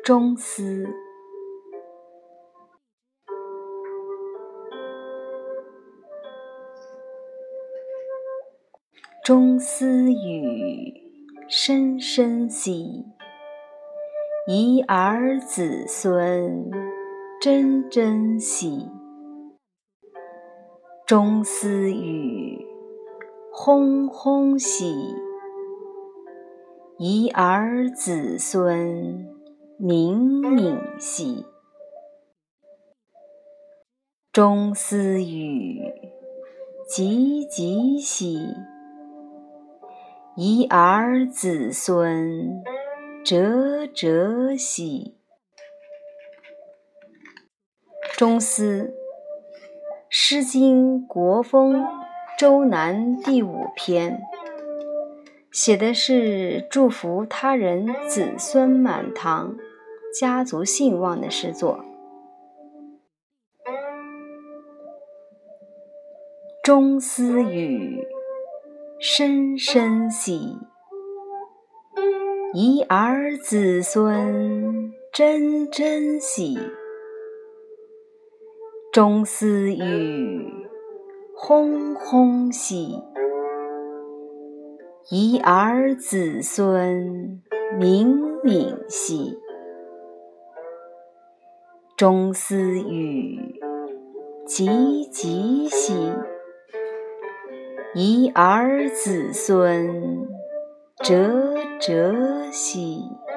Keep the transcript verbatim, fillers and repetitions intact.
中思。中思语，深深喜，遗儿子孙，真真喜。中思语，轰轰喜，遗儿子孙，敏敏喜。中思语，急急喜，遗儿子孙，哲哲喜。中思，诗经国风周南第五篇，写的是祝福他人子孙满堂、家族兴旺的诗作。中思语，深深喜，遗儿子孙，真真喜。中思语，轰轰喜，遗儿子孙，敏敏喜。中思语，急急喜，遗儿子孙，哲哲喜。